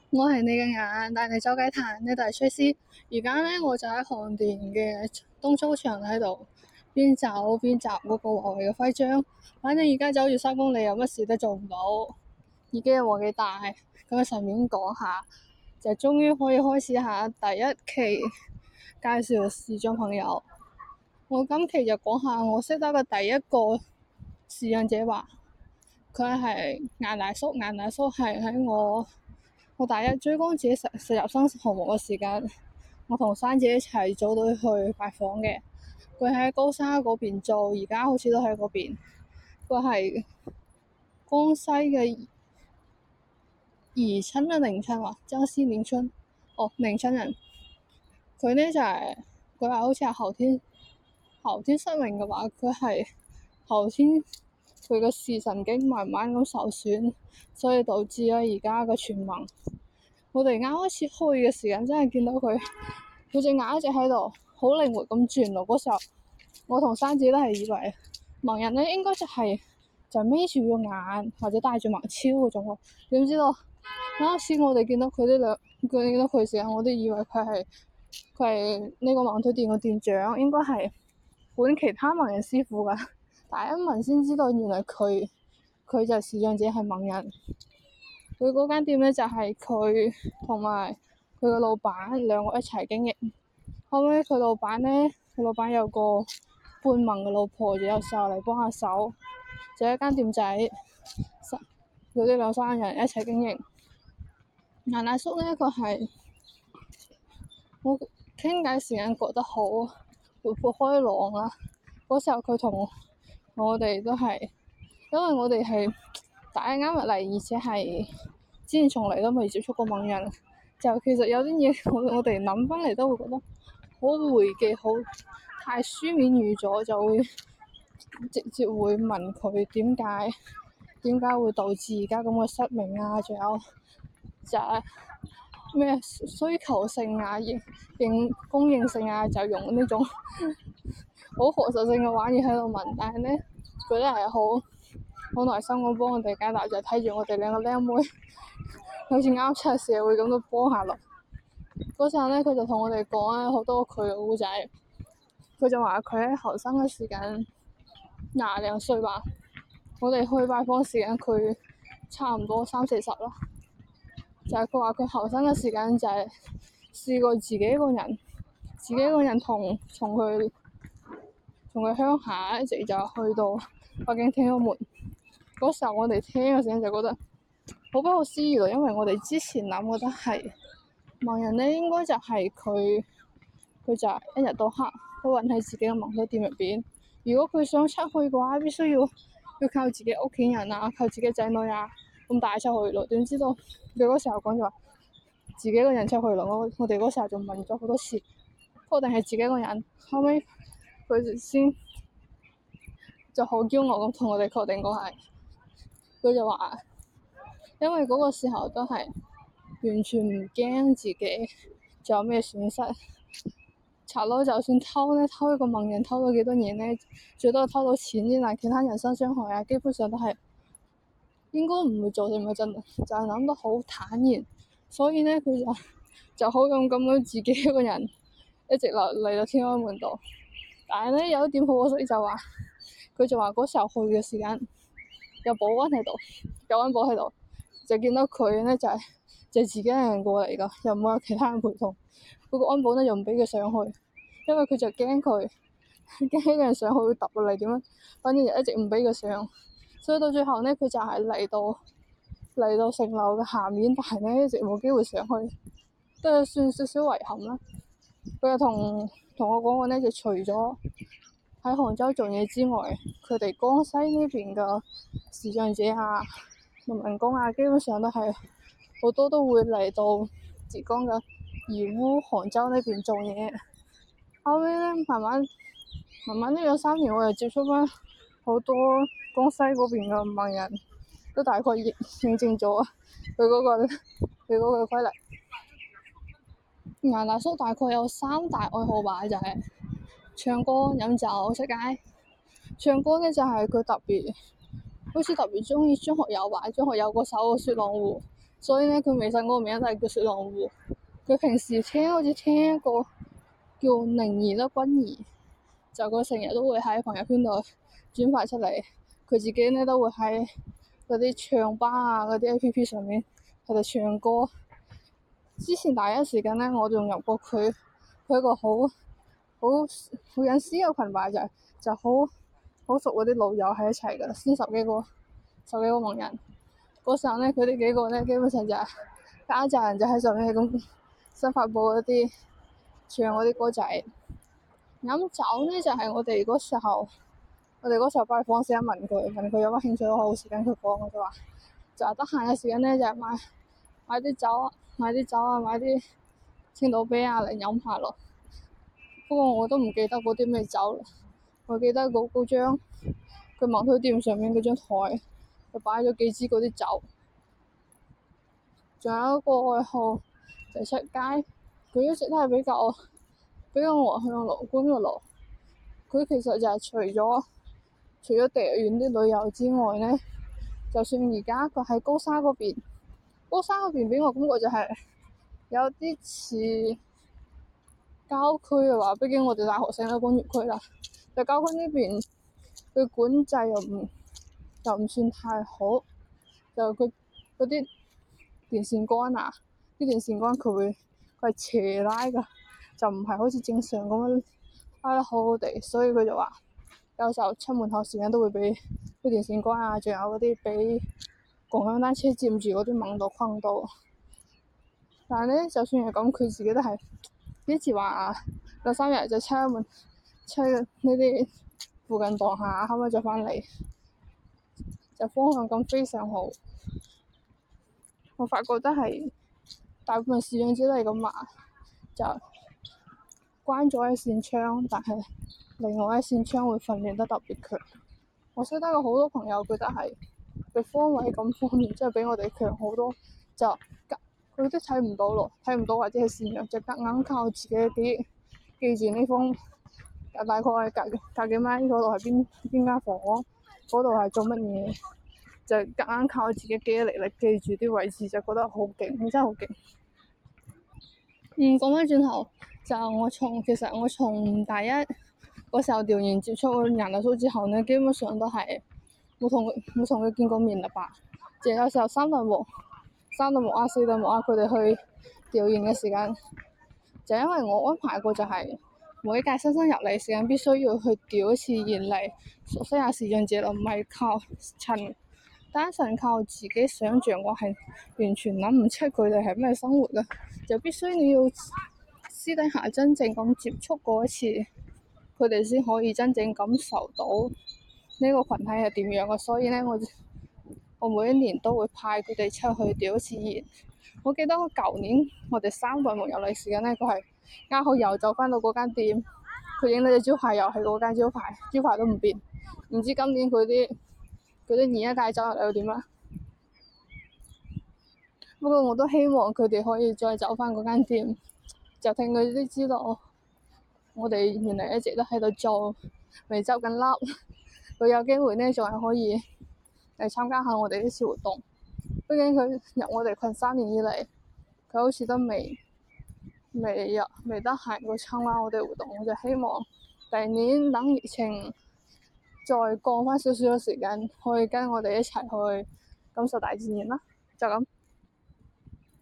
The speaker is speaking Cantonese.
我係你嘅眼，帶你周街嘆，呢度係崔斯。而家呢，我就喺航電嘅東操場喺度，邊走邊集嗰個華為嘅徽章。反正而家走住3公里，有乜事都做唔到。耳機又冇幾大，咁順便講下，就終於可以開始下第一期介紹視障朋友。我今期就講下我識得嘅第一個視障者吧。佢係顏大叔，顏大叔係喺我大一追光者實習生項目嘅時間，我同珊姐一齊組隊去拜訪嘅。佢喺高沙嗰邊做，而家好似都喺嗰邊。佢係江西嘅宜春啊，寧春啊，江西寧春，寧春人。佢呢就係佢話好似係後天失明嘅話，佢係後天佢個視神經慢慢咁受損，所以導致咗而家嘅全盲。我哋啱開始去嘅時間，真係見到佢隻眼一直喺度好靈活咁轉咯。嗰時候我同珊姐都係以為盲人咧應該就眯住個眼或者戴住盲超嗰種咯。點知道啱先我哋見到佢見到佢時間，我都以為佢係呢個盲腿店嘅店長，應該係管其他盲人師傅噶。但係一問先知道，原來佢就係視障者，係盲人。佢嗰間店咧就係佢同埋佢個老闆兩個一齊經營。後尾佢老闆有個半盲嘅老婆，就有時候嚟幫下手，就一間店仔，佢哋兩三人一齊經營。顏大叔咧，佢係我傾偈時間覺得好活潑開朗啦。嗰時候佢同我哋都係，因為我哋係大一啱入嚟，而且係之前從嚟都未接觸過盲人，就其實有啲嘢我哋諗翻嚟都會覺得好回記，好太書面語咗，就會直接會問佢點解會導致而家咁嘅失明啊，仲有就係咩需求性啊、供應性啊，就用呢種好學術性嘅玩意喺度問。但係呢，佢都係好耐心咁幫我哋解答，就睇住我哋兩個靚妹好似啱出社會咁都幫下落。嗰陣呢，佢就同我哋講啊好多佢嘅故仔。佢就話佢喺後生嘅時間20零歲吧，我哋去拜訪時間佢差唔多30、40啦。就係佢話佢後生嘅時間就係試過自己一個人從佢鄉下一直就去到北京天安門。嗰時候我哋聽嘅時間就覺得好不可思議咯，因為我哋之前諗覺得係盲人咧，應該就係佢就一日到黑都韞喺自己嘅盲腿店入邊。如果佢想出去嘅話，必須要靠自己屋企人啊，靠自己仔女啊咁帶出去咯。點知道佢嗰時候講就話自己一個人出去咯。我哋嗰時候仲問咗好多次，確定係自己一個人。後尾佢先就好驕傲咁同我哋確定過係。佢就話，因為嗰個時候都係完全唔驚自己仲有咩損失。賊佬就算偷一個盲人偷到幾多年呢？最多偷到錢啫，但其他人身傷害啊，基本上都係應該唔會做成嘅，真就係諗得好坦然。所以呢，佢就好勇敢咁自己一個人一直嚟到天安門度。但係呢，有一點好可惜就話，佢就話嗰時候去嘅時間有保安喺度，有安保喺度，就見到佢呢就自己一個人過嚟噶，又冇有其他人陪同。嗰個安保呢又唔俾佢上去，因為佢就驚一個人上去會揼落嚟點樣，反正就一直唔俾佢上。所以到最後呢，佢就係嚟到城樓嘅下面，但係呢一直冇機會上去，都係算少少遺憾啦。佢又同我講過呢，就除咗喺杭州做嘢之外，佢哋江西呢邊嘅視障者啊、農民工啊，基本上都係好多都會嚟到浙江嘅義烏、杭州呢邊做嘢。後尾呢，慢慢呢2、3年，我又接觸翻好多江西嗰邊嘅盲人，都大概認證咗佢嗰個規律。顏大叔大概有3大愛好吧，就係唱歌、飲酒、出街。唱歌呢，就係佢好似特別鍾意張學友吧，張學友嗰首《雪狼湖》， 所以咧佢微信嗰個名就係叫雪狼湖。佢平時好似聽一個叫寧兒啦君兒，就佢成日都會喺朋友圈度轉發出嚟，佢自己咧都會喺嗰啲唱吧啊嗰啲 APP 上面喺度唱歌。之前第一時間咧我仲入過佢一個好隱私嘅群吧，就好熟嗰啲老友喺一齊噶，先十幾個網人。嗰時候咧佢哋幾個咧基本上就係一紮人就喺上面咁新發布嗰啲唱嗰啲歌仔。飲酒咧就係我哋嗰時候拜訪時問佢有乜興趣，我好時間佢講，我就話得閒嘅時間咧就係買啲酒啊，買啲青島啤啊嚟飲下咯。不過我都唔記得嗰啲咩酒啦，我記得嗰張佢網推店上面嗰張台就擺咗幾支嗰啲酒。仲有一個愛好就係出街，佢一直都係比較外向樂觀嘅路。佢其實就係除咗地遠啲旅遊之外咧，就算而家佢喺高沙嗰邊俾我感覺就係有啲似郊區嘅話，畢竟我哋大學生都工業區啦。就郊區呢邊佢管制又唔算太好，就佢嗰啲電線桿啊，佢係斜拉㗎，就唔係好似正常咁樣拉得好好地，所以佢就話有時候出門口時間都會俾啲電線桿啊，仲有嗰啲俾共享單車佔住嗰啲盲道框到。但係咧，就算係咁，佢自己都係呢次話兩三日就出呢啲附近蕩下，後尾就翻嚟，就方向感非常好。我發覺都係大部分視障者都係咁話，就關咗一扇窗，但係另外一扇窗會訓練得特別強。我識得有好多朋友佢都係佢方位感方面即係比我哋強好多，就佢都睇唔到咯，睇唔到或者係視弱，就夾硬靠自己記住呢方大概隔幾米嗰度係邊間房，嗰度係做乜嘢，就夾硬靠自己記憶力記住啲位置，就覺得好勁，真係好勁。講返轉頭，就其實我從大一嗰時候調研接觸楊大叔之後呢，基本上都係冇同佢見過面啦吧。就有時候三對目啊、四對目啊，佢哋去調研嘅時間，就因為我安排過就係每一屆新生入嚟時間必須要去調一次研嚟熟悉下視障者咯，唔係單純靠自己想像，我係完全諗唔出佢哋係咩生活嘅，就必須你要私底下真正咁接觸過一次，佢哋先可以真正感受到呢個群體係點樣嘅。所以呢，我每一年都會派佢哋出去調一次研。我記得我舊年我哋三對目入嚟時間呢，佢係啱好又走翻到嗰間店，佢影到隻招牌又係嗰間招牌都唔變。唔知今年佢啲研一屆走入嚟又點啦？不過我都希望佢哋可以再走翻嗰間店，就聽佢哋知道我哋原來一直都喺度做，未執緊笠。佢有機會呢，仲係可以嚟參加下我哋呢次活動。畢竟佢入我哋群3年以嚟，佢好似都未得閒過參加我哋活動。我就希望第二年等疫情再過翻少少嘅時間，可以跟我哋一齊去感受大自然啦。就咁。